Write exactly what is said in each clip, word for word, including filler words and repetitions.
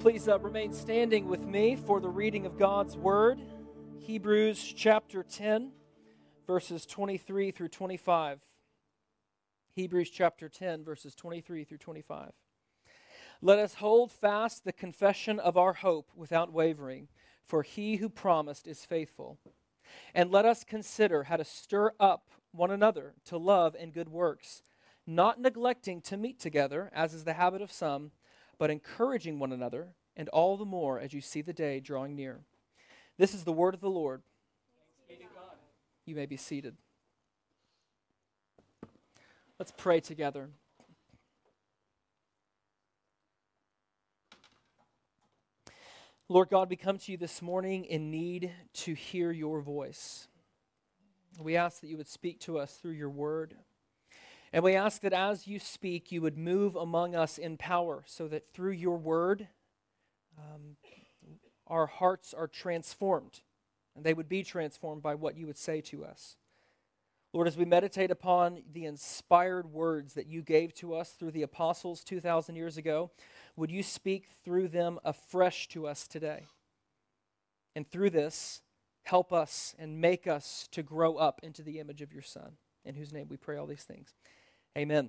Please uh, remain standing with me for the reading of God's Word. Hebrews chapter ten, verses twenty-three through twenty-five. Hebrews chapter ten, verses twenty-three through twenty-five. Let us hold fast the confession of our hope without wavering, for he who promised is faithful. And let us consider how to stir up one another to love and good works, not neglecting to meet together, as is the habit of some, but encouraging one another, and all the more as you see the day drawing near. This is the word of the Lord. You may be seated. Let's pray together. Lord God, we come to you this morning in need to hear your voice. We ask that you would speak to us through your word. And we ask that as you speak, you would move among us in power so that through your word, um, our hearts are transformed, and they would be transformed by what you would say to us. Lord, as we meditate upon the inspired words that you gave to us through the apostles two thousand years ago, would you speak through them afresh to us today? And through this, help us and make us to grow up into the image of your Son, in whose name we pray all these things. Amen.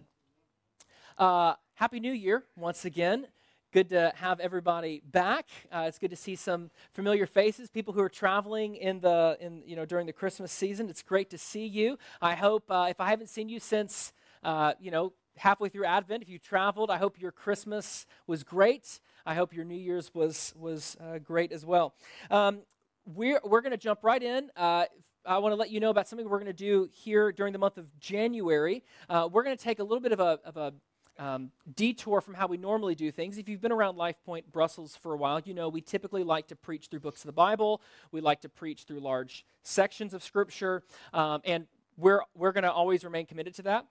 Uh, Happy New Year once again. Good to have everybody back. Uh, it's good to see some familiar faces, people who are traveling in the in you know during the Christmas season. It's great to see you. I hope uh, if I haven't seen you since uh, you know halfway through Advent, if you traveled, I hope your Christmas was great. I hope your New Year's was was uh, great as well. Um, we're we're going to jump right in. Uh, I want to let you know about something we're going to do here during the month of January. Uh, we're going to take a little bit of a, of a um, detour from how we normally do things. If you've been around Life Point Brussels for a while, you know we typically like to preach through books of the Bible. We like to preach through large sections of Scripture, um, and we're we're going to always remain committed to that.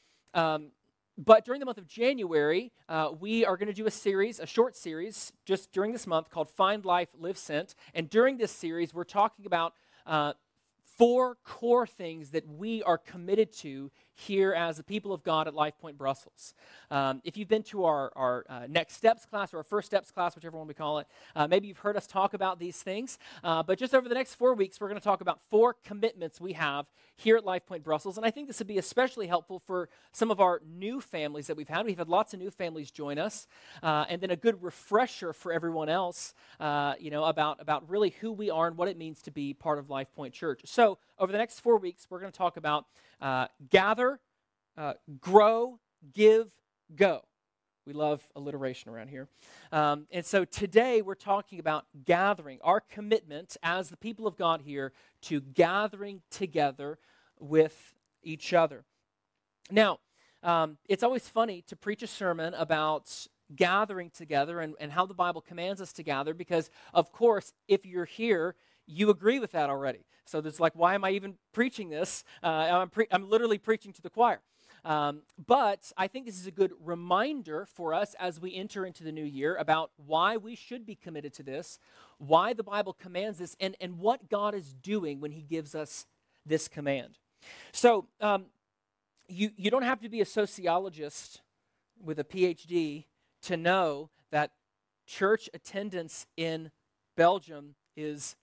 Um, but during the month of January, uh, we are going to do a series, a short series, just during this month called Find Life, Live Sent. And during this series, we're talking about uh, four core things that we are committed to here as the people of God at Life Point Brussels. Um, if you've been to our, our uh, Next Steps class or our First Steps class, whichever one we call it, uh, maybe you've heard us talk about these things. Uh, but just over the next four weeks, we're going to talk about four commitments we have here at Life Point Brussels. And I think this would be especially helpful for some of our new families that we've had. We've had lots of new families join us. Uh, and then a good refresher for everyone else, uh, you know, about, about really who we are and what it means to be part of Life Point Church. So over the next four weeks, we're going to talk about uh, gather, uh, grow, give, go. We love alliteration around here. Um, and so today we're talking about gathering, our commitment as the people of God here to gathering together with each other. Now, um, it's always funny to preach a sermon about gathering together and, and how the Bible commands us to gather because, of course, if you're here, you agree with that already. So there's like, why am I even preaching this? Uh, I'm, pre- I'm literally preaching to the choir. Um, but I think this is a good reminder for us as we enter into the new year about why we should be committed to this, why the Bible commands this, and, and what God is doing when he gives us this command. So um, you, you don't have to be a sociologist with a P H D to know that church attendance in Belgium is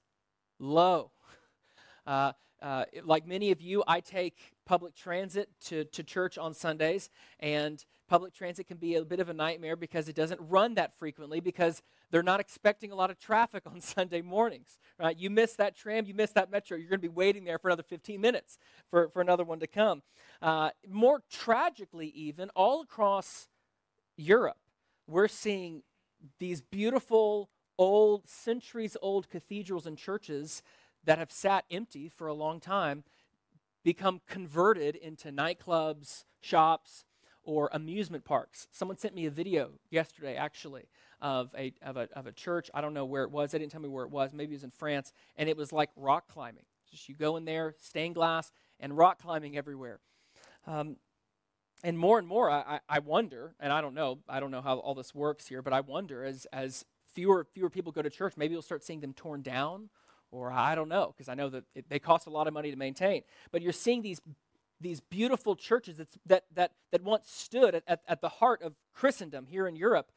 low. Uh, uh, like many of you, I take public transit to, to church on Sundays, and public transit can be a bit of a nightmare because it doesn't run that frequently because they're not expecting a lot of traffic on Sunday mornings, right? You miss that tram, you miss that metro, you're going to be waiting there for another fifteen minutes for, for another one to come. Uh, more tragically even, all across Europe, we're seeing these beautiful, old, centuries-old cathedrals and churches that have sat empty for a long time become converted into nightclubs, shops, or amusement parks. Someone sent me a video yesterday, actually, of a of a of a church. I don't know where it was. They didn't tell me where it was. Maybe it was in France, and it was like rock climbing. Just you go in there, stained glass, and rock climbing everywhere. Um, and more and more, I, I wonder, and I don't know, I don't know how all this works here, but I wonder as as fewer fewer people go to church, maybe you'll start seeing them torn down. Or I don't know, because I know that it, they cost a lot of money to maintain. But you're seeing these these beautiful churches that's, that that that once stood at, at, at the heart of Christendom here in Europe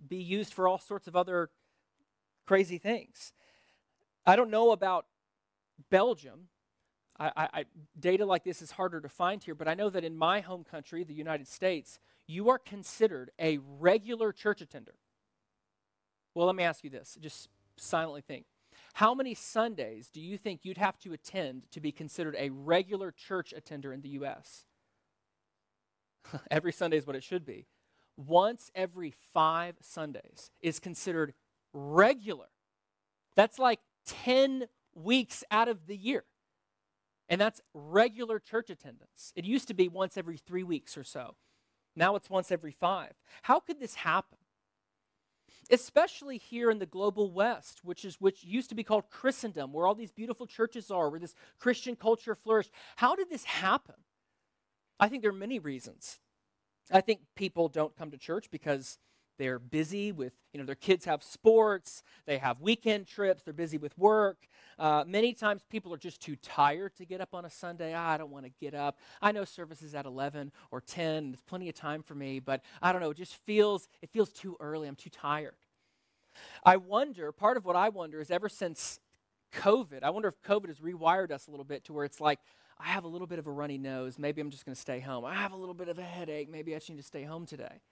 be used for all sorts of other crazy things. I don't know about Belgium. I, I, I, data like this is harder to find here, but I know that in my home country, the United States, you are considered a regular church attender. Well, let me ask you this. Just silently think. How many Sundays do you think you'd have to attend to be considered a regular church attender in the U S? Every Sunday is what it should be. Once every five Sundays is considered regular. That's like ten weeks out of the year. And that's regular church attendance. It used to be once every three weeks or so. Now it's once every five. How could this happen? Especially here in the global West, which is which used to be called Christendom, where all these beautiful churches are, where this Christian culture flourished. How did this happen? I think there are many reasons. I think people don't come to church because they're busy with, you know, their kids have sports, they have weekend trips, they're busy with work. Uh, many times people are just too tired to get up on a Sunday. Ah, I don't want to get up. I know service is at eleven or ten, and there's plenty of time for me, but I don't know, it just feels, it feels too early. I'm too tired. I wonder, part of what I wonder is ever since COVID, I wonder if COVID has rewired us a little bit to where it's like, I have a little bit of a runny nose, maybe I'm just going to stay home. I have a little bit of a headache, maybe I just need to stay home today.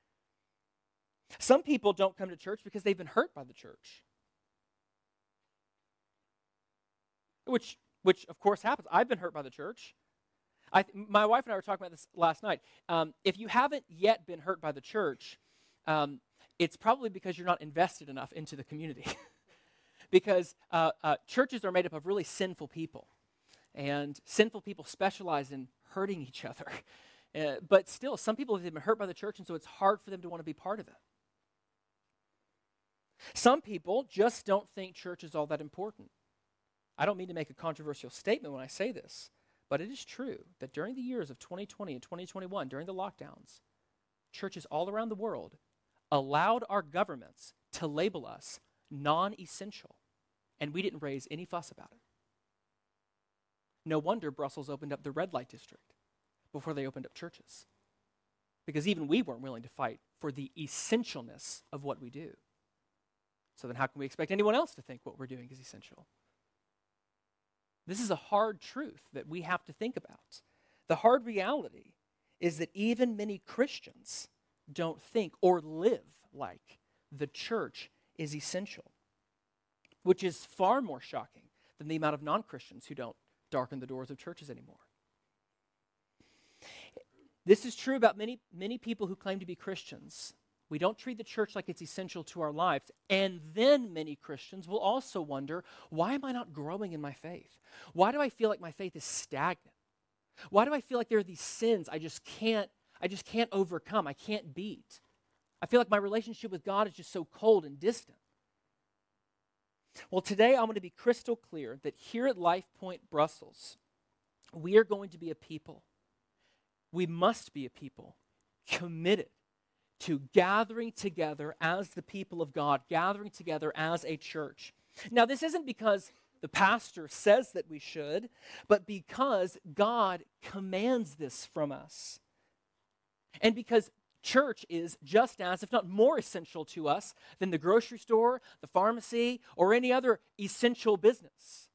Some people don't come to church because they've been hurt by the church. Which, which of course happens. I've been hurt by the church. I, my wife and I were talking about this last night. Um, if you haven't yet been hurt by the church, um, it's probably because you're not invested enough into the community. Because uh, uh, churches are made up of really sinful people. And sinful people specialize in hurting each other. Uh, but still, some people have been hurt by the church, and so it's hard for them to want to be part of it. Some people just don't think church is all that important. I don't mean to make a controversial statement when I say this, but it is true that during the years of twenty twenty and twenty twenty-one, during the lockdowns, churches all around the world allowed our governments to label us non-essential, and we didn't raise any fuss about it. No wonder Brussels opened up the red light district before they opened up churches, because even we weren't willing to fight for the essentialness of what we do. So then how can we expect anyone else to think what we're doing is essential? This is a hard truth that we have to think about. The hard reality is that even many Christians don't think or live like the church is essential, which is far more shocking than the amount of non-Christians who don't darken the doors of churches anymore. This is true about many, many people who claim to be Christians. We don't treat the church like it's essential to our lives. And then many Christians will also wonder, why am I not growing in my faith? Why do I feel like my faith is stagnant? Why do I feel like there are these sins I just can't, I just can't overcome, I can't beat? I feel like my relationship with God is just so cold and distant. Well, today I'm going to be crystal clear that here at Life Point Brussels, we are going to be a people. We must be a people committed to gathering together as the people of God, gathering together as a church. Now, this isn't because the pastor says that we should, but because God commands this from us. And because church is just as, if not more essential to us than the grocery store, the pharmacy, or any other essential business.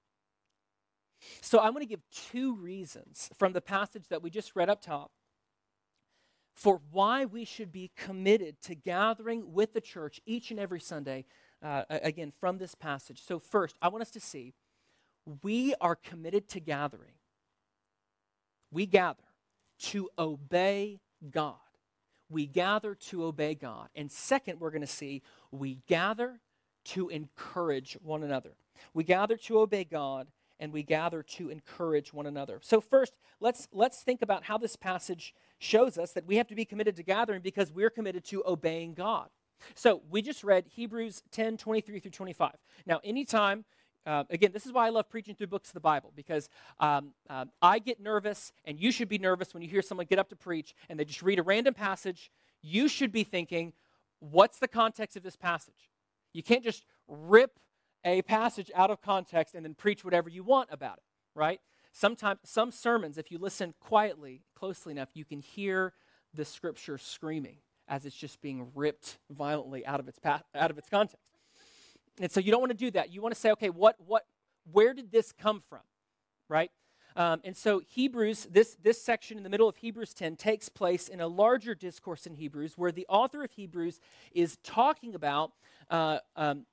So I'm going to give two reasons from the passage that we just read up top for why we should be committed to gathering with the church each and every Sunday, uh, again, from this passage. So first, I want us to see we are committed to gathering. We gather to obey God. We gather to obey God. And second, we're going to see we gather to encourage one another. We gather to obey God, and we gather to encourage one another. So first, let's let's think about how this passage shows us that we have to be committed to gathering because we're committed to obeying God. So we just read Hebrews ten, twenty-three through twenty-five. Now, anytime, uh, again, this is why I love preaching through books of the Bible, because um, uh, I get nervous, and you should be nervous when you hear someone get up to preach and they just read a random passage. You should be thinking, what's the context of this passage? You can't just rip a passage out of context and then preach whatever you want about it, right? Sometimes, some sermons, if you listen quietly, closely enough, you can hear the scripture screaming as it's just being ripped violently out of its pa- out of its context. And so you don't want to do that. You want to say, okay, what what where did this come from, right? Um, and so Hebrews, this this section in the middle of Hebrews ten takes place in a larger discourse in Hebrews, where the author of Hebrews is talking about uh, um,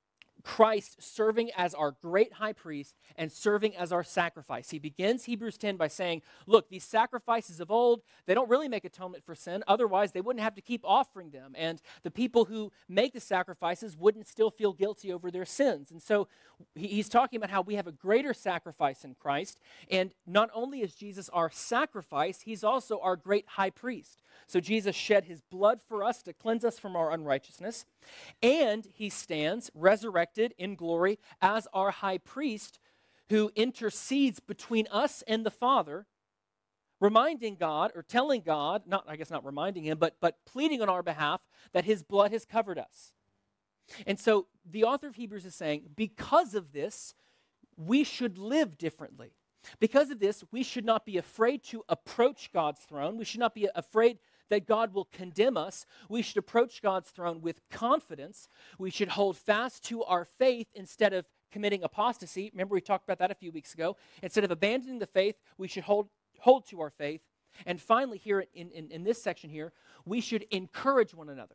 Christ serving as our great high priest and serving as our sacrifice. He begins Hebrews ten by saying, look, these sacrifices of old, they don't really make atonement for sin. Otherwise, they wouldn't have to keep offering them. And the people who make the sacrifices wouldn't still feel guilty over their sins. And so he's talking about how we have a greater sacrifice in Christ. And not only is Jesus our sacrifice, he's also our great high priest. So Jesus shed his blood for us to cleanse us from our unrighteousness. And he stands resurrected in glory as our high priest who intercedes between us and the Father, reminding God or telling God, not I guess not reminding him, but, but pleading on our behalf that his blood has covered us. And so the author of Hebrews is saying, because of this, we should live differently. Because of this, we should not be afraid to approach God's throne. We should not be afraid that God will condemn us. We should approach God's throne with confidence. We should hold fast to our faith instead of committing apostasy. Remember, we talked about that a few weeks ago. Instead of abandoning the faith, we should hold, hold to our faith. And finally, here in, in, in this section here, we should encourage one another.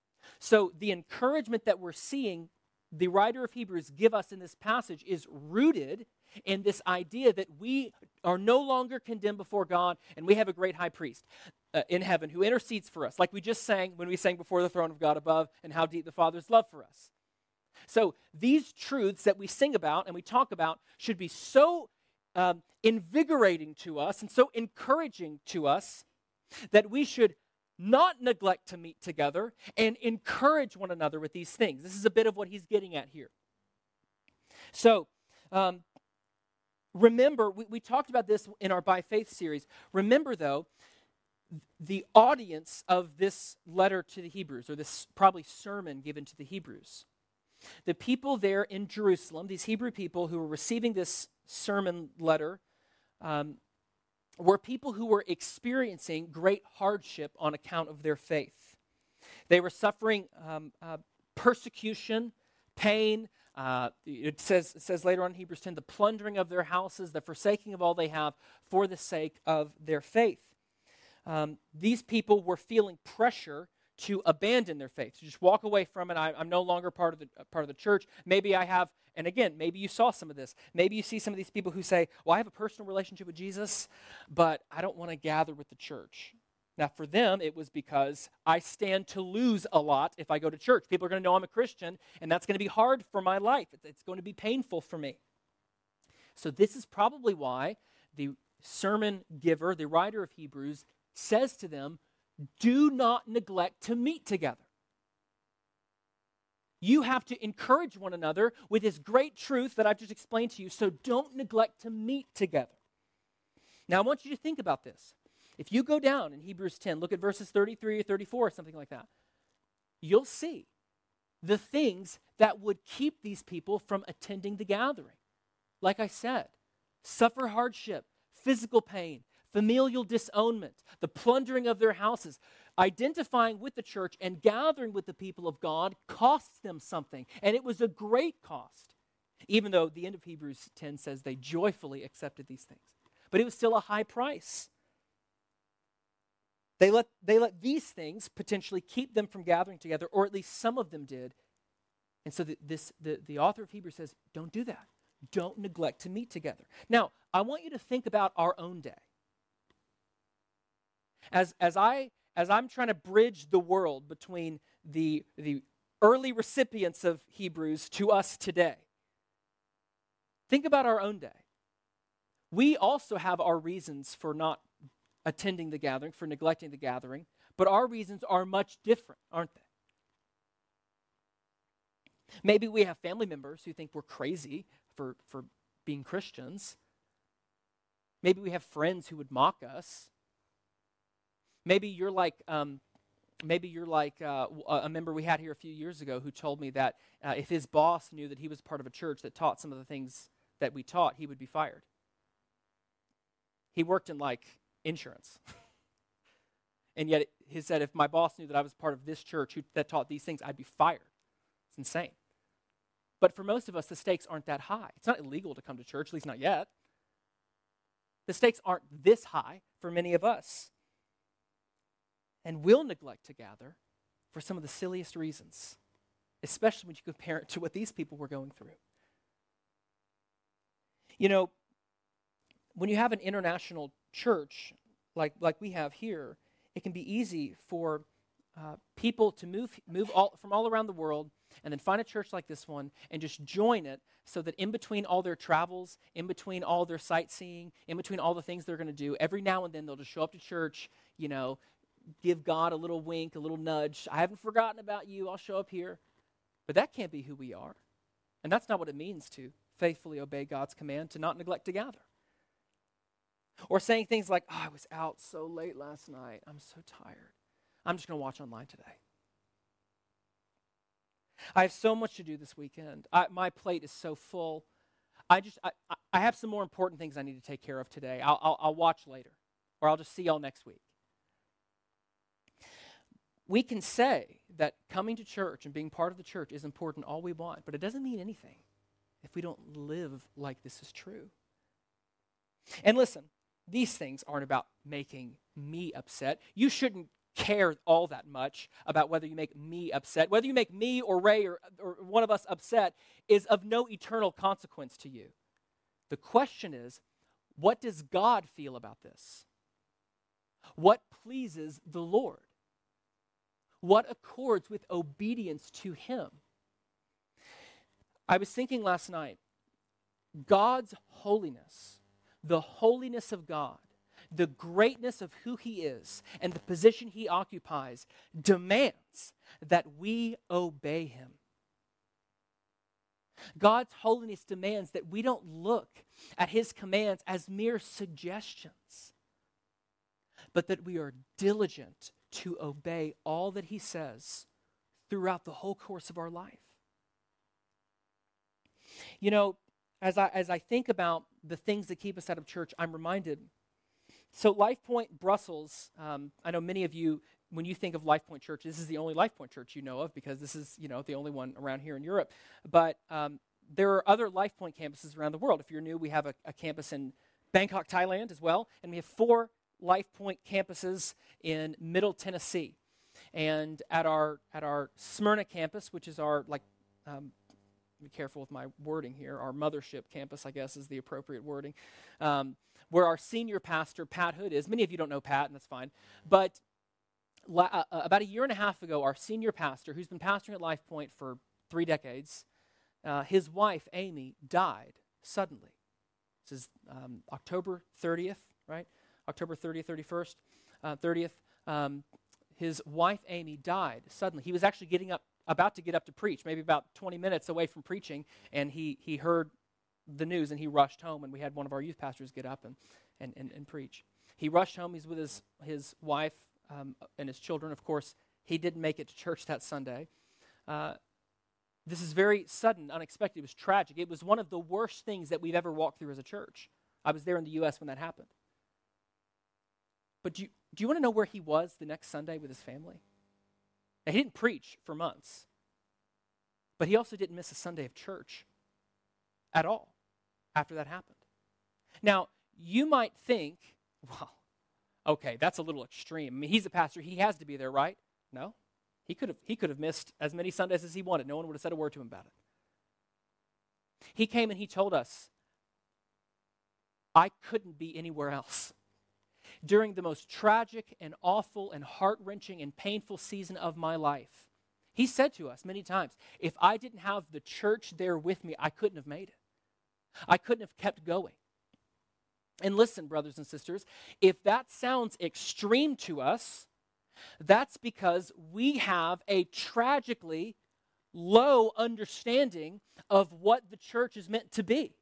So the encouragement that we're seeing the writer of Hebrews give us in this passage is rooted in this idea that we are no longer condemned before God, and we have a great high priest uh, in heaven who intercedes for us, like we just sang when we sang before the throne of God above and how deep the Father's love for us. So these truths that we sing about and we talk about should be so um, invigorating to us and so encouraging to us that we should not neglect to meet together and encourage one another with these things. This is a bit of what he's getting at here. So, um, remember, we, we talked about this in our By Faith series. Remember, though, the audience of this letter to the Hebrews, or this probably sermon given to the Hebrews. The people there in Jerusalem, these Hebrew people who were receiving this sermon letter, um, were people who were experiencing great hardship on account of their faith. They were suffering um, uh, persecution, pain. Uh, it says it says later on in Hebrews ten, the plundering of their houses, the forsaking of all they have for the sake of their faith. Um, these people were feeling pressure to abandon their faith, to just walk away from it. I, I'm no longer part of the uh, part of the church. Maybe I have, and again, maybe you saw some of this. Maybe you see some of these people who say, well, I have a personal relationship with Jesus, but I don't want to gather with the church. Now, for them, it was because I stand to lose a lot if I go to church. People are going to know I'm a Christian, and that's going to be hard for my life. It's going to be painful for me. So this is probably why the sermon giver, the writer of Hebrews, says to them, do not neglect to meet together. You have to encourage one another with this great truth that I've just explained to you, so don't neglect to meet together. Now, I want you to think about this. If you go down in Hebrews ten, look at verses thirty-three or thirty-four, something like that, you'll see the things that would keep these people from attending the gathering. Like I said, suffer hardship, physical pain, familial disownment, the plundering of their houses. Identifying with the church and gathering with the people of God costs them something, and it was a great cost, even though the end of Hebrews ten says they joyfully accepted these things. But it was still a high price. They let, they let these things potentially keep them from gathering together, or at least some of them did. And so the, this, the, the author of Hebrews says, don't do that. Don't neglect to meet together. Now, I want you to think about our own day. As, as, I, as I'm trying to bridge the world between the, the early recipients of Hebrews to us today, think about our own day. We also have our reasons for not attending the gathering, for neglecting the gathering, but our reasons are much different, aren't they? Maybe we have family members who think we're crazy for, for being Christians. Maybe we have friends who would mock us. Maybe you're like, um, maybe you're like uh, a member we had here a few years ago who told me that uh, if his boss knew that he was part of a church that taught some of the things that we taught, he would be fired. He worked in like insurance. And yet he said, if my boss knew that I was part of this church who, that taught these things, I'd be fired. It's insane. But for most of us, the stakes aren't that high. It's not illegal to come to church, at least not yet. The stakes aren't this high for many of us. And we'll neglect to gather for some of the silliest reasons, especially when you compare it to what these people were going through. You know, when you have an international church like, like we have here, it can be easy for uh, people to move move all, from all around the world and then find a church like this one and just join it so that in between all their travels, in between all their sightseeing, in between all the things they're going to do, every now and then they'll just show up to church, you know, give God a little wink, a little nudge. I haven't forgotten about you. I'll show up here. But that can't be who we are. And that's not what it means to faithfully obey God's command, to not neglect to gather. Or saying things like, oh, I was out so late last night. I'm so tired. I'm just going to watch online today. I have so much to do this weekend. I, my plate is so full. I just, I, I have some more important things I need to take care of today. I'll, I'll, I'll watch later. Or I'll just see y'all next week. We can say that coming to church and being part of the church is important all we want, but it doesn't mean anything if we don't live like this is true. And listen, these things aren't about making me upset. You shouldn't care all that much about whether you make me upset. Whether you make me or Ray or, or one of us upset is of no eternal consequence to you. The question is, what does God feel about this? What pleases the Lord? What accords with obedience to Him? I was thinking last night, God's holiness, the holiness of God, the greatness of who He is, and the position He occupies demands that we obey Him. God's holiness demands that we don't look at His commands as mere suggestions, but that we are diligent to obey all that He says throughout the whole course of our life. You know, as I as I think about the things that keep us out of church, I'm reminded. So Life Point Brussels, um, I know many of you, when you think of Life Point Church, this is the only Life Point Church you know of because this is, you know, the only one around here in Europe. But um, there are other Life Point campuses around the world. If you're new, we have a, a campus in Bangkok, Thailand as well, and we have four Life Point campuses in Middle Tennessee. And at our at our Smyrna campus, which is our, like, um, be careful with my wording here, our mothership campus, I guess, is the appropriate wording, um, where our senior pastor, Pat Hood, is. Many of you don't know Pat, and that's fine. But la- uh, about a year and a half ago, our senior pastor, who's been pastoring at Life Point for three decades, uh, his wife, Amy, died suddenly. This is um, October thirtieth, right? October thirtieth, thirty-first, uh, thirtieth. Um, his wife, Amy, died suddenly. He was actually getting up, about to get up to preach, maybe about twenty minutes away from preaching, and he he heard the news, and he rushed home, and we had one of our youth pastors get up and and, and, and preach. He rushed home. He's with his, his wife um, and his children. Of course, he didn't make it to church that Sunday. Uh, this is very sudden, unexpected. It was tragic. It was one of the worst things that we've ever walked through as a church. I was there in the U S when that happened. But do you, do you want to know where he was the next Sunday with his family? Now, he didn't preach for months, but he also didn't miss a Sunday of church at all after that happened. Now, you might think, well, okay, that's a little extreme. I mean, he's a pastor. He has to be there, right? No. He could have he could have missed as many Sundays as he wanted. No one would have said a word to him about it. He came and he told us, I couldn't be anywhere else. During the most tragic and awful and heart-wrenching and painful season of my life, he said to us many times, if I didn't have the church there with me, I couldn't have made it. I couldn't have kept going. And listen, brothers and sisters, if that sounds extreme to us, that's because we have a tragically low understanding of what the church is meant to be.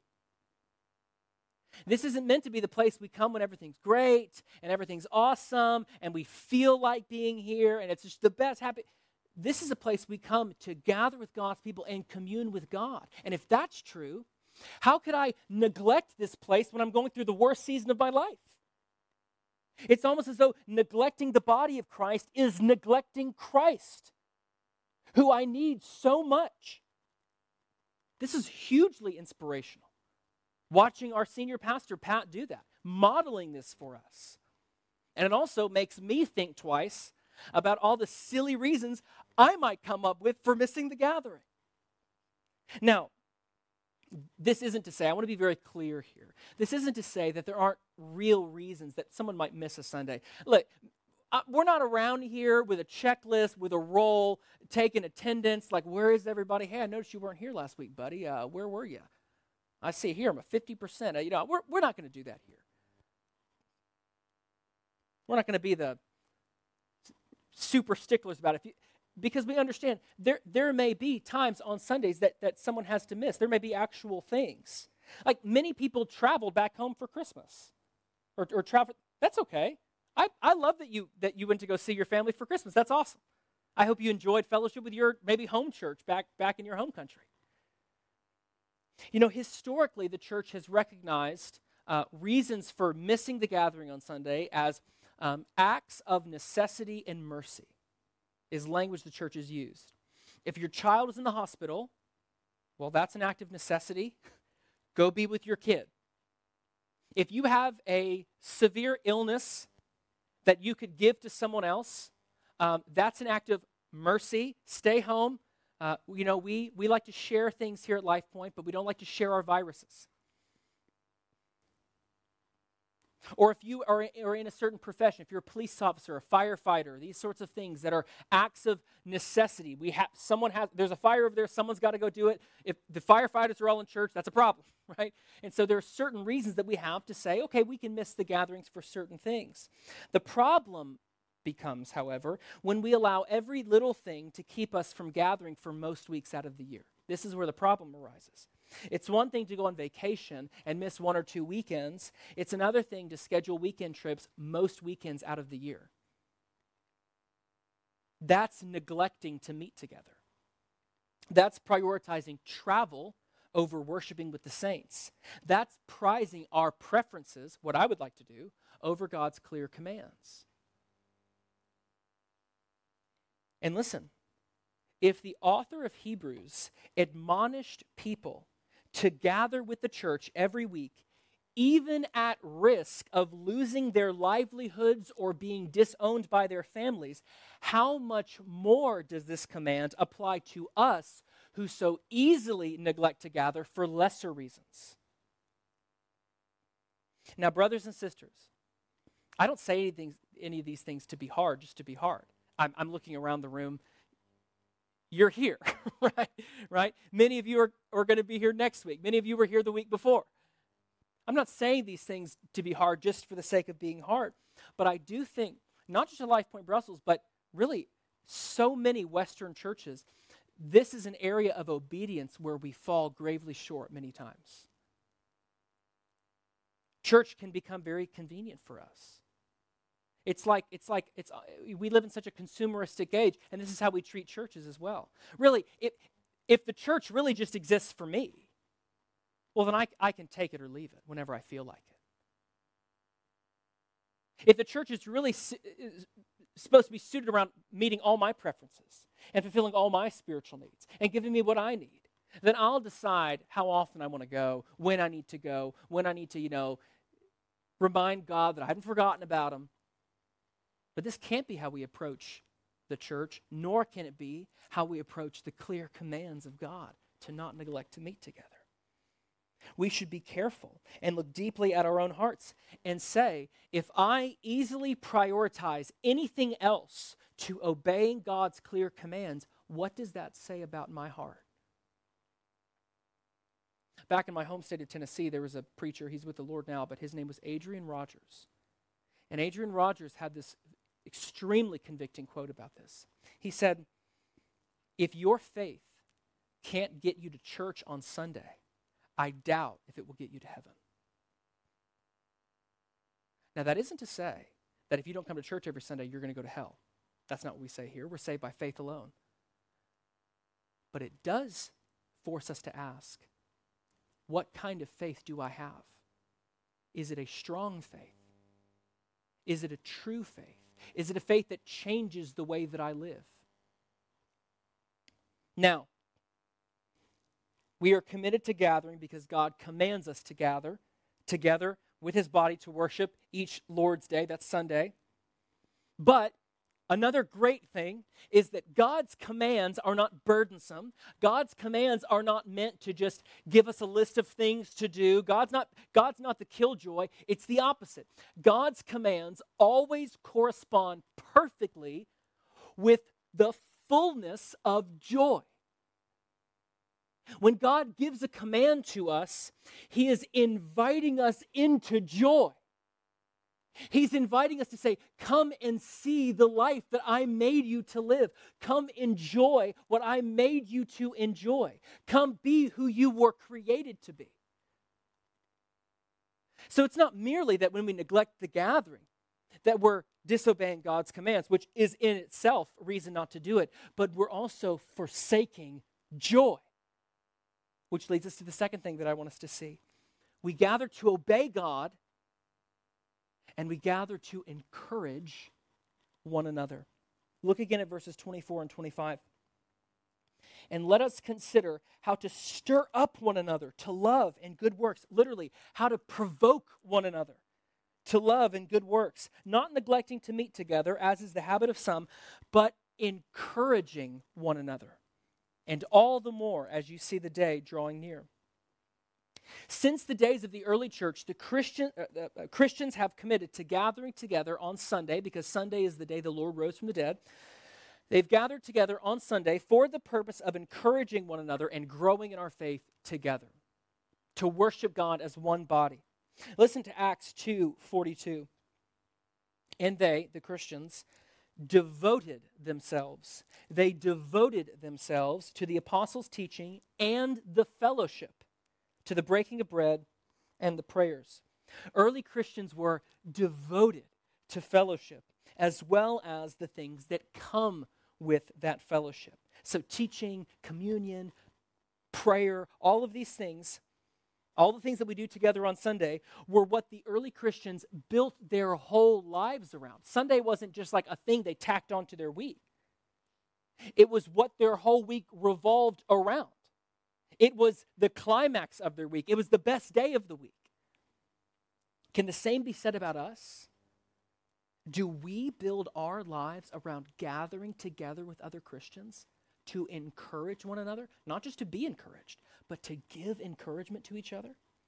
This isn't meant to be the place we come when everything's great and everything's awesome and we feel like being here and it's just the best happy. This is a place we come to gather with God's people and commune with God. And if that's true, how could I neglect this place when I'm going through the worst season of my life? It's almost as though neglecting the body of Christ is neglecting Christ, who I need so much. This is hugely inspirational. Watching our senior pastor, Pat, do that, modeling this for us. And it also makes me think twice about all the silly reasons I might come up with for missing the gathering. Now, this isn't to say, I want to be very clear here. This isn't to say that there aren't real reasons that someone might miss a Sunday. Look, uh, we're not around here with a checklist, with a roll, taking attendance, like, where is everybody? Hey, I noticed you weren't here last week, buddy. Uh, where were you? I see here, I'm a fifty percent. Uh, you know, we're, we're not going to do that here. We're not going to be the super sticklers about it. If you, because we understand there, there may be times on Sundays that, that someone has to miss. There may be actual things. Like many people traveled back home for Christmas or, or travel. That's okay. I, I love that you that you went to go see your family for Christmas. That's awesome. I hope you enjoyed fellowship with your maybe home church back, back in your home country. You know, historically, the church has recognized uh, reasons for missing the gathering on Sunday as um, acts of necessity and mercy is language the church has used. If your child is in the hospital, well, that's an act of necessity. Go be with your kid. If you have a severe illness that you could give to someone else, um, that's an act of mercy. Stay home. Uh, you know, we, we like to share things here at LifePoint, but we don't like to share our viruses. Or if you are, are in a certain profession, if you're a police officer, a firefighter, these sorts of things that are acts of necessity. We have someone has there's a fire over there, someone's got to go do it. If the firefighters are all in church, that's a problem, right? And so there are certain reasons that we have to say, okay, we can miss the gatherings for certain things. The problem becomes, however, when we allow every little thing to keep us from gathering for most weeks out of the year. This is where the problem arises. It's one thing to go on vacation and miss one or two weekends. It's another thing to schedule weekend trips most weekends out of the year. That's neglecting to meet together. That's prioritizing travel over worshiping with the saints. That's prizing our preferences, what I would like to do, over God's clear commands. And listen, if the author of Hebrews admonished people to gather with the church every week, even at risk of losing their livelihoods or being disowned by their families, how much more does this command apply to us who so easily neglect to gather for lesser reasons? Now, brothers and sisters, I don't say anything, any of these things to be hard, just to be hard. I'm, I'm looking around the room. You're here, right? Right? Many of you are, are going to be here next week. Many of you were here the week before. I'm not saying these things to be hard just for the sake of being hard, but I do think, not just at LifePoint Brussels, but really so many Western churches, this is an area of obedience where we fall gravely short many times. Church can become very convenient for us. It's like, it's like, it's. we live in such a consumeristic age, and this is how we treat churches as well. Really, if, if the church really just exists for me, well, then I, I can take it or leave it whenever I feel like it. If the church is really su- is supposed to be suited around meeting all my preferences and fulfilling all my spiritual needs and giving me what I need, then I'll decide how often I want to go, when I need to go, when I need to, you know, remind God that I haven't forgotten about him. But this can't be how we approach the church, nor can it be how we approach the clear commands of God to not neglect to meet together. We should be careful and look deeply at our own hearts and say, if I easily prioritize anything else to obeying God's clear commands, what does that say about my heart? Back in my home state of Tennessee, there was a preacher, he's with the Lord now, but his name was Adrian Rogers. And Adrian Rogers had this extremely convicting quote about this. He said, if your faith can't get you to church on Sunday, I doubt if it will get you to heaven. Now, that isn't to say that if you don't come to church every Sunday, you're going to go to hell. That's not what we say here. We're saved by faith alone. But it does force us to ask, what kind of faith do I have? Is it a strong faith? Is it a true faith? Is it a faith that changes the way that I live? Now, we are committed to gathering because God commands us to gather together with his body to worship each Lord's Day. That's Sunday. But another great thing is that God's commands are not burdensome. God's commands are not meant to just give us a list of things to do. God's not, God's not the killjoy. It's the opposite. God's commands always correspond perfectly with the fullness of joy. When God gives a command to us, he is inviting us into joy. He's inviting us to say, come and see the life that I made you to live. Come enjoy what I made you to enjoy. Come be who you were created to be. So it's not merely that when we neglect the gathering, that we're disobeying God's commands, which is in itself a reason not to do it, but we're also forsaking joy. Which leads us to the second thing that I want us to see. We gather to obey God, and we gather to encourage one another. Look again at verses twenty-four and twenty-five. And let us consider how to stir up one another to love and good works. Literally, how to provoke one another to love and good works. Not neglecting to meet together, as is the habit of some, but encouraging one another. And all the more as you see the day drawing near. Since the days of the early church, the Christian, uh, uh, Christians have committed to gathering together on Sunday, because Sunday is the day the Lord rose from the dead. They've gathered together on Sunday for the purpose of encouraging one another and growing in our faith together, to worship God as one body. Listen to Acts two forty-two. And they, the Christians, devoted themselves. They devoted themselves to the apostles' teaching and the fellowship, to the breaking of bread and the prayers. Early Christians were devoted to fellowship, as well as the things that come with that fellowship. So teaching, communion, prayer, all of these things, all the things that we do together on Sunday were what the early Christians built their whole lives around. Sunday wasn't just like a thing they tacked onto their week. It was what their whole week revolved around. It was the climax of their week. It was the best day of the week. Can the same be said about us? Do we build our lives around gathering together with other Christians to encourage one another? Not just to be encouraged, but to give encouragement to each other?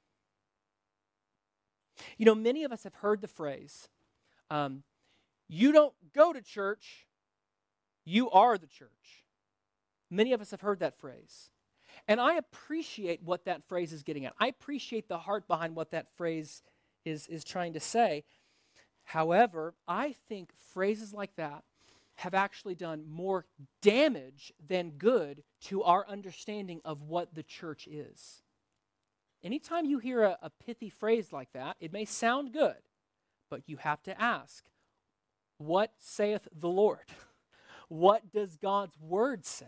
You know, many of us have heard the phrase, um, you don't go to church, you are the church. Many of us have heard that phrase. And I appreciate what that phrase is getting at. I appreciate the heart behind what that phrase is, is trying to say. However, I think phrases like that have actually done more damage than good to our understanding of what the church is. Anytime you hear a, a pithy phrase like that, it may sound good, but you have to ask, what saith the Lord? What does God's word say?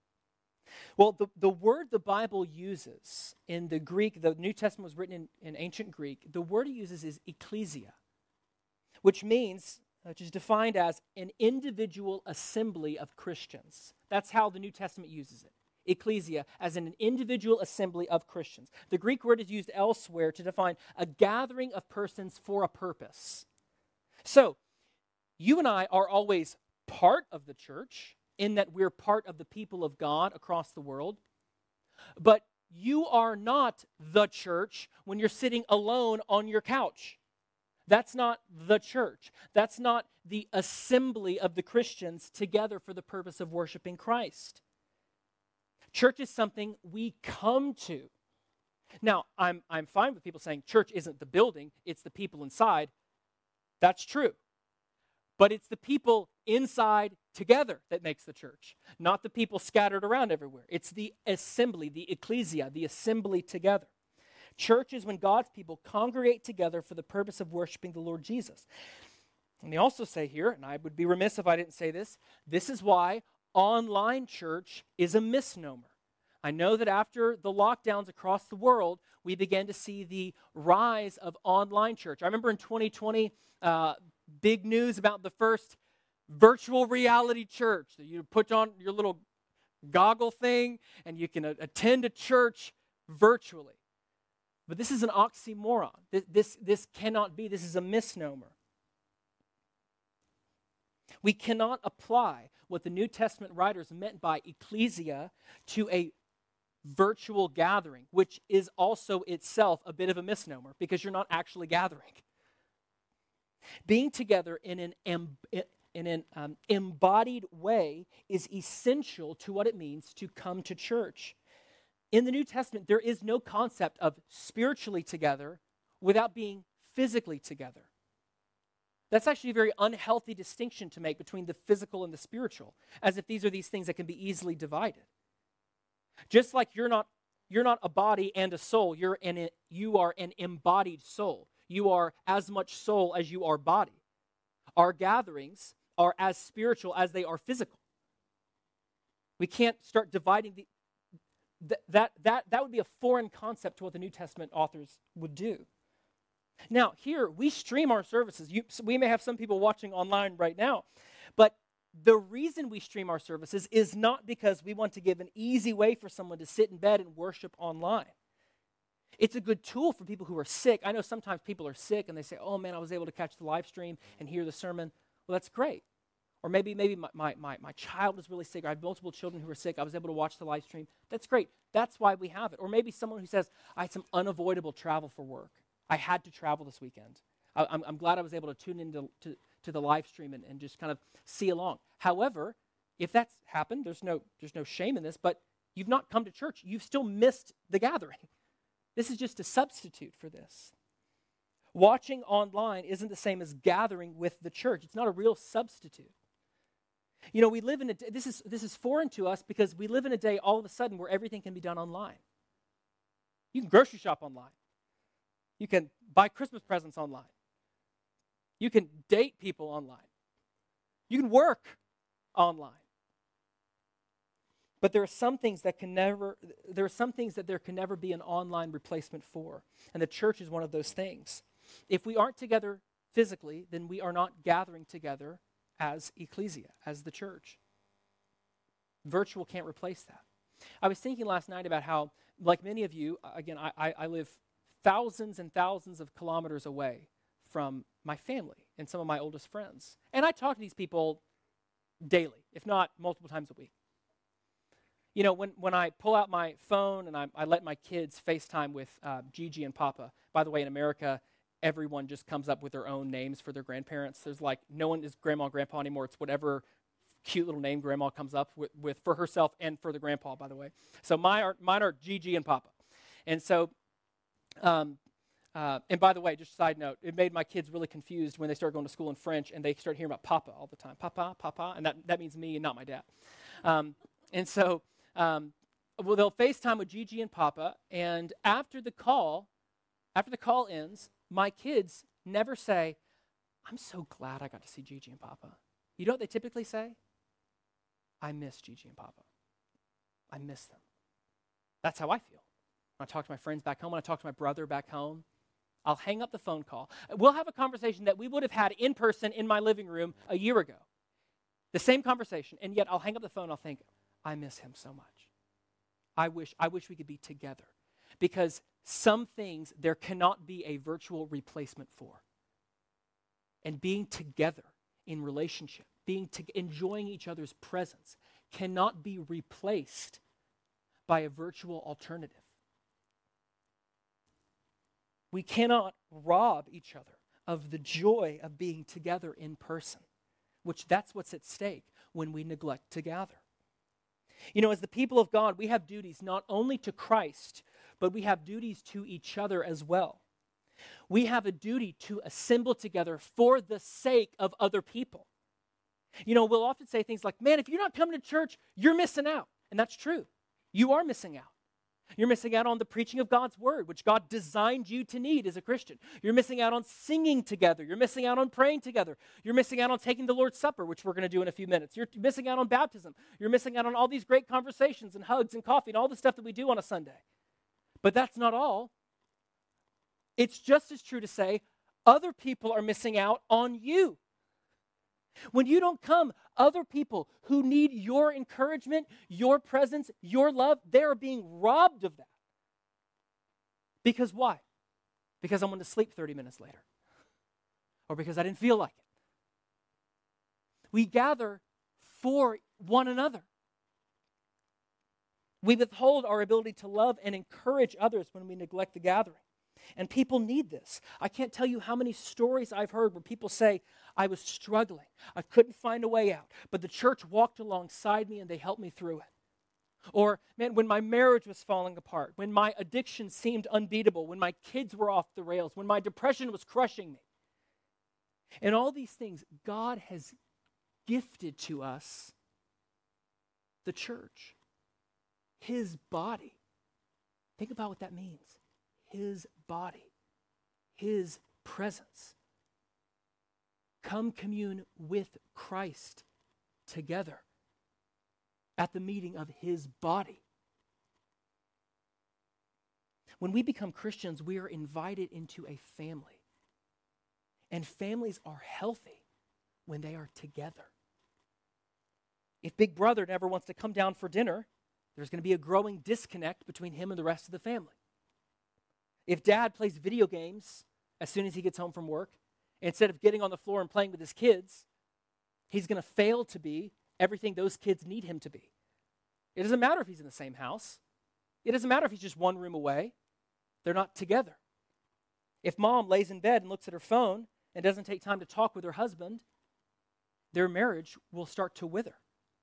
Well, the, the word the Bible uses in the Greek, the New Testament was written in, in ancient Greek, the word it uses is ecclesia, which means, which is defined as an individual assembly of Christians. That's how the New Testament uses it. Ecclesia, as in an individual assembly of Christians. The Greek word is used elsewhere to define a gathering of persons for a purpose. So, you and I are always part of the church, in that we're part of the people of God across the world. But you are not the church when you're sitting alone on your couch. That's not the church. That's not the assembly of the Christians together for the purpose of worshiping Christ. Church is something we come to. Now, I'm, I'm fine with people saying church isn't the building, it's the people inside. That's true. But it's the people inside together that makes the church, not the people scattered around everywhere. It's the assembly, the ecclesia, the assembly together. Church is when God's people congregate together for the purpose of worshiping the Lord Jesus. And they also say here, and I would be remiss if I didn't say this, this is why online church is a misnomer. I know that after the lockdowns across the world, we began to see the rise of online church. I remember in twenty twenty, uh, big news about the first virtual reality church. So you put on your little goggle thing and you can a- attend a church virtually. But this is an oxymoron. This, this, this cannot be. This is a misnomer. We cannot apply what the New Testament writers meant by ecclesia to a virtual gathering, which is also itself a bit of a misnomer because you're not actually gathering. Being together in an, em- in an um, embodied way is essential to what it means to come to church. In the New Testament, there is no concept of spiritually together without being physically together. That's actually a very unhealthy distinction to make between the physical and the spiritual, as if these are these things that can be easily divided. Just like you're not, you're not a body and a soul, you're an, you are an embodied soul. You are as much soul as you are body. Our gatherings are as spiritual as they are physical. We can't start dividing the th- that that that would be a foreign concept to what the New Testament authors would do. Now, here we stream our services. You, we may have some people watching online right now, but the reason we stream our services is not because we want to give an easy way for someone to sit in bed and worship online. It's a good tool for people who are sick. I know sometimes people are sick and they say, oh man, I was able to catch the live stream and hear the sermon. Well, that's great. Or maybe maybe my, my, my, my child is really sick. I have multiple children who are sick. I was able to watch the live stream. That's great. That's why we have it. Or maybe someone who says, I had some unavoidable travel for work. I had to travel this weekend. I, I'm, I'm glad I was able to tune into to, to the live stream and, and just kind of see along. However, if that's happened, there's no, there's no shame in this, but you've not come to church. You've still missed the gathering. This is just a substitute for this. Watching online isn't the same as gathering with the church. It's not a real substitute. You know, we live in a, this is, this is foreign to us because we live in a day all of a sudden where everything can be done online. You can grocery shop online. You can buy Christmas presents online. You can date people online. You can work online. But there are some things that can never, there are some things that there can never be an online replacement for. And the church is one of those things. If we aren't together physically, then we are not gathering together as ecclesia, as the church. Virtual can't replace that. I was thinking last night about how, like many of you, again, I, I, I live thousands and thousands of kilometers away from my family and some of my oldest friends. And I talk to these people daily, if not multiple times a week. You know, when, when I pull out my phone and I, I let my kids FaceTime with uh, Gigi and Papa, by the way, in America, everyone just comes up with their own names for their grandparents. There's like, no one is grandma and grandpa anymore. It's whatever cute little name grandma comes up with, with for herself and for the grandpa, by the way. So my are, mine are Gigi and Papa. And so, um, uh, and by the way, just a side note, it made my kids really confused when they started going to school in French and they started hearing about Papa all the time. Papa, Papa, and that, that means me and not my dad. Um, and so, Um, well, they'll FaceTime with Gigi and Papa, and after the call, after the call ends, my kids never say, I'm so glad I got to see Gigi and Papa. You know what they typically say? I miss Gigi and Papa. I miss them. That's how I feel. When I talk to my friends back home, when I talk to my brother back home, I'll hang up the phone call. We'll have a conversation that we would have had in person in my living room a year ago. The same conversation, and yet I'll hang up the phone and I'll think, I miss him so much. I wish I wish we could be together. Because some things there cannot be a virtual replacement for. And being together in relationship, being to, enjoying each other's presence cannot be replaced by a virtual alternative. We cannot rob each other of the joy of being together in person, which that's what's at stake when we neglect to gather. You know, as the people of God, we have duties not only to Christ, but we have duties to each other as well. We have a duty to assemble together for the sake of other people. You know, we'll often say things like, man, if you're not coming to church, you're missing out. And that's true. You are missing out. You're missing out on the preaching of God's word, which God designed you to need as a Christian. You're missing out on singing together. You're missing out on praying together. You're missing out on taking the Lord's Supper, which we're going to do in a few minutes. You're missing out on baptism. You're missing out on all these great conversations and hugs and coffee and all the stuff that we do on a Sunday. But that's not all. It's just as true to say, other people are missing out on you. When you don't come, other people who need your encouragement, your presence, your love, they are being robbed of that. Because why? Because I wanted to sleep thirty minutes later. Or because I didn't feel like it. We gather for one another. We withhold our ability to love and encourage others when we neglect the gathering. And people need this. I can't tell you how many stories I've heard where people say, I was struggling. I couldn't find a way out. But the church walked alongside me and they helped me through it. Or, man, when my marriage was falling apart, when my addiction seemed unbeatable, when my kids were off the rails, when my depression was crushing me. And all these things, God has gifted to us the church, His body. Think about what that means. His body, His presence. Come commune with Christ together at the meeting of His body. When we become Christians, we are invited into a family. And families are healthy when they are together. If Big Brother never wants to come down for dinner, there's going to be a growing disconnect between him and the rest of the family. If Dad plays video games as soon as he gets home from work, instead of getting on the floor and playing with his kids, he's going to fail to be everything those kids need him to be. It doesn't matter if he's in the same house. It doesn't matter if he's just one room away. They're not together. If mom lays in bed and looks at her phone and doesn't take time to talk with her husband, their marriage will start to wither.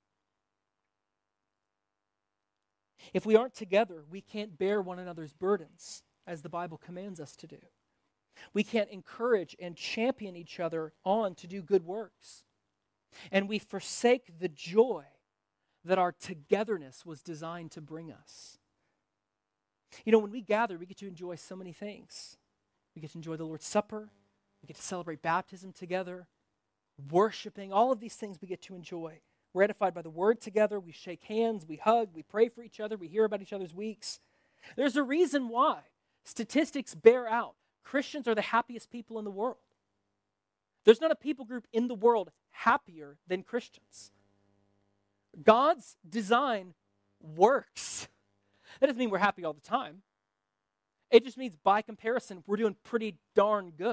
If we aren't together, we can't bear one another's burdens, as the Bible commands us to do. We can't encourage and champion each other on to do good works. And we forsake the joy that our togetherness was designed to bring us. You know, when we gather, we get to enjoy so many things. We get to enjoy the Lord's Supper. We get to celebrate baptism together, worshiping, all of these things we get to enjoy. We're edified by the Word together. We shake hands, we hug, we pray for each other, we hear about each other's weeks. There's a reason why statistics bear out Christians are the happiest people in the world. There's not a people group in the world happier than Christians. God's design works. That doesn't mean we're happy all the time. It just means by comparison, we're doing pretty darn good.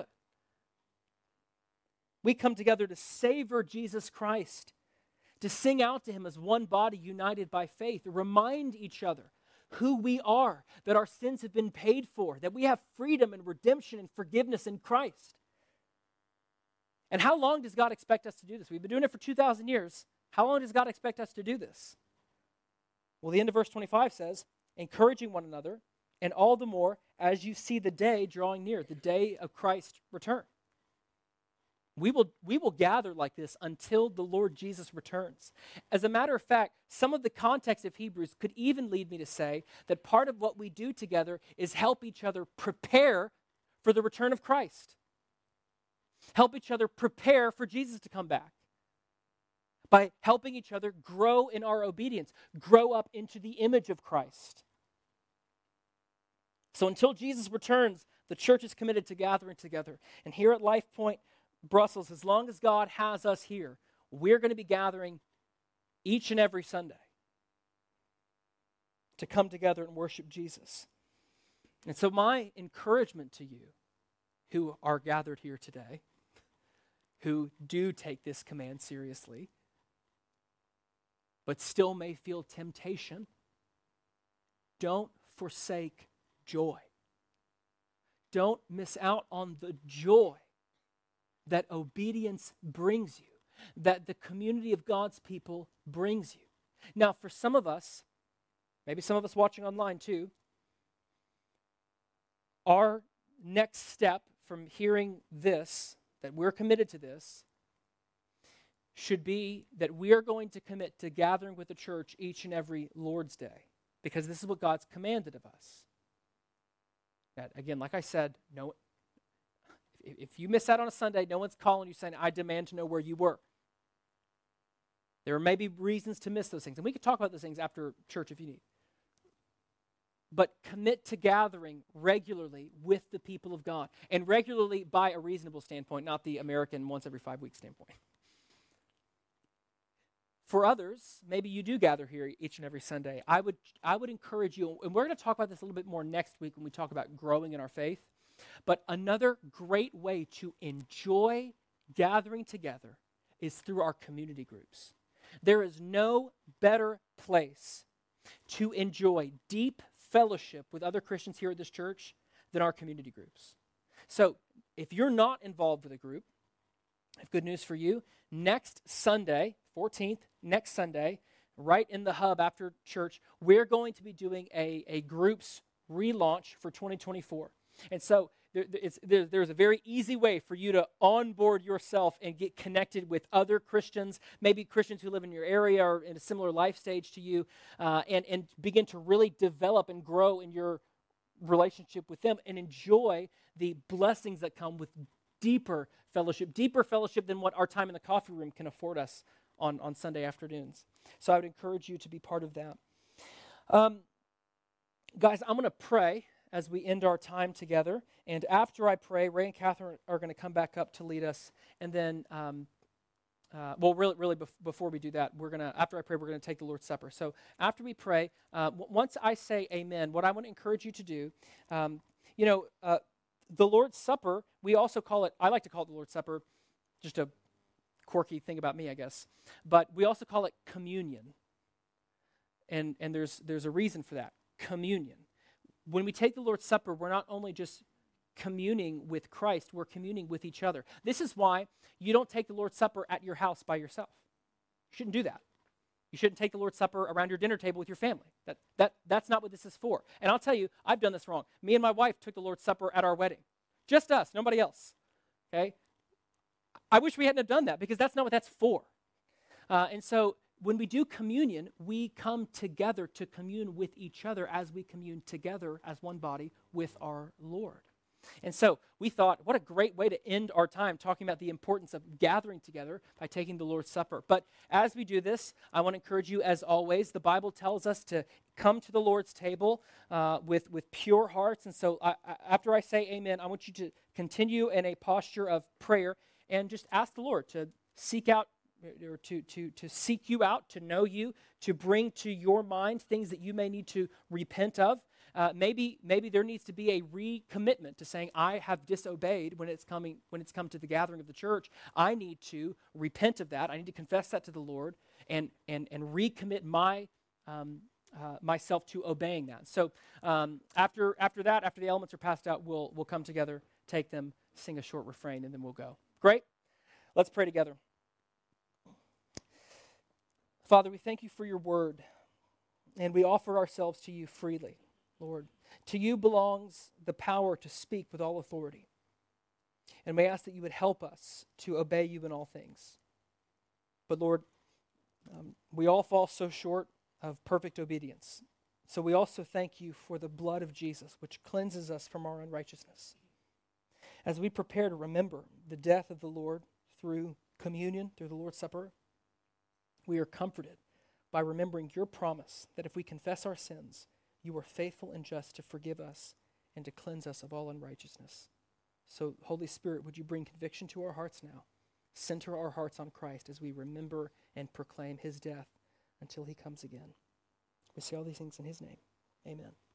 We come together to savor Jesus Christ, to sing out to Him as one body united by faith, remind each other who we are, that our sins have been paid for, that we have freedom and redemption and forgiveness in Christ. And how long does God expect us to do this? We've been doing it for two thousand years. How long does God expect us to do this? Well, the end of verse twenty-five says, encouraging one another, and all the more as you see the day drawing near, the day of Christ's return. We will, we will gather like this until the Lord Jesus returns. As a matter of fact, some of the context of Hebrews could even lead me to say that part of what we do together is help each other prepare for the return of Christ. Help each other prepare for Jesus to come back. By helping each other grow in our obedience, grow up into the image of Christ. So until Jesus returns, the church is committed to gathering together. And here at Life Point Brussels, as long as God has us here, we're going to be gathering each and every Sunday to come together and worship Jesus. And so my encouragement to you who are gathered here today, who do take this command seriously, but still may feel temptation, don't forsake joy. Don't miss out on the joy that obedience brings you, that the community of God's people brings you. Now, for some of us, maybe some of us watching online too, our next step from hearing this, that we're committed to this, should be that we are going to commit to gathering with the church each and every Lord's Day, because this is what God's commanded of us. That, again, like I said, no. If you miss out on a Sunday, no one's calling you saying, I demand to know where you were. There may be reasons to miss those things. And we can talk about those things after church if you need. but commit to gathering regularly with the people of God. And regularly by a reasonable standpoint, not the American once every five weeks standpoint. For others, maybe you do gather here each and every Sunday. I would I would encourage you, and we're going to talk about this a little bit more next week when we talk about growing in our faith, but another great way to enjoy gathering together is through our community groups. There is no better place to enjoy deep fellowship with other Christians here at this church than our community groups. So if you're not involved with a group, I have good news for you. Next Sunday, fourteenth, next Sunday, right in the hub after church, we're going to be doing a, a groups relaunch for twenty twenty-four. And so there, it's, there, there's a very easy way for you to onboard yourself and get connected with other Christians, maybe Christians who live in your area or in a similar life stage to you, uh, and, and begin to really develop and grow in your relationship with them and enjoy the blessings that come with deeper fellowship, deeper fellowship than what our time in the coffee room can afford us on, on Sunday afternoons. So I would encourage you to be part of that. Um, guys, I'm going to pray as we end our time together. And after I pray, Ray and Catherine are going to come back up to lead us. And then, um, uh, well, really, really bef- before we do that, we're going to, after I pray, we're going to take the Lord's Supper. So after we pray, uh, w- once I say amen, what I want to encourage you to do, um, you know, uh, the Lord's Supper, we also call it, I like to call it the Lord's Supper, just a quirky thing about me, I guess. But we also call it communion. And and there's there's a reason for that, communion. When we take the Lord's Supper, we're not only just communing with Christ, we're communing with each other. This is why you don't take the Lord's Supper at your house by yourself. You shouldn't do that. You shouldn't take the Lord's Supper around your dinner table with your family. That, that, that's not what this is for. And I'll tell you, I've done this wrong. Me and my wife took the Lord's Supper at our wedding. Just us, nobody else. Okay? I wish we hadn't have done that because that's not what that's for. Uh, and so when we do communion, we come together to commune with each other as we commune together as one body with our Lord. And so we thought, what a great way to end our time talking about the importance of gathering together by taking the Lord's Supper. But as we do this, I want to encourage you, as always, the Bible tells us to come to the Lord's table uh, with, with pure hearts. And so I, I, after I say amen, I want you to continue in a posture of prayer and just ask the Lord to seek out or to, to, to seek you out, to know you, to bring to your mind things that you may need to repent of. Uh, maybe maybe there needs to be a recommitment to saying, I have disobeyed when it's coming when it's come to the gathering of the church. I need to repent of that. I need to confess that to the Lord and and and recommit my um, uh, myself to obeying that. So um, after after that, after the elements are passed out, we'll we'll come together, take them, sing a short refrain, and then we'll go. Great? Let's pray together. Father, we thank you for your word, and we offer ourselves to you freely. Lord, to you belongs the power to speak with all authority. And we ask that you would help us to obey you in all things. But Lord, um, we all fall so short of perfect obedience. So we also thank you for the blood of Jesus, which cleanses us from our unrighteousness. As we prepare to remember the death of the Lord through communion, through the Lord's Supper, we are comforted by remembering your promise that if we confess our sins, you are faithful and just to forgive us and to cleanse us of all unrighteousness. So, Holy Spirit, would you bring conviction to our hearts now? Center our hearts on Christ as we remember and proclaim his death until he comes again. We say all these things in his name. Amen.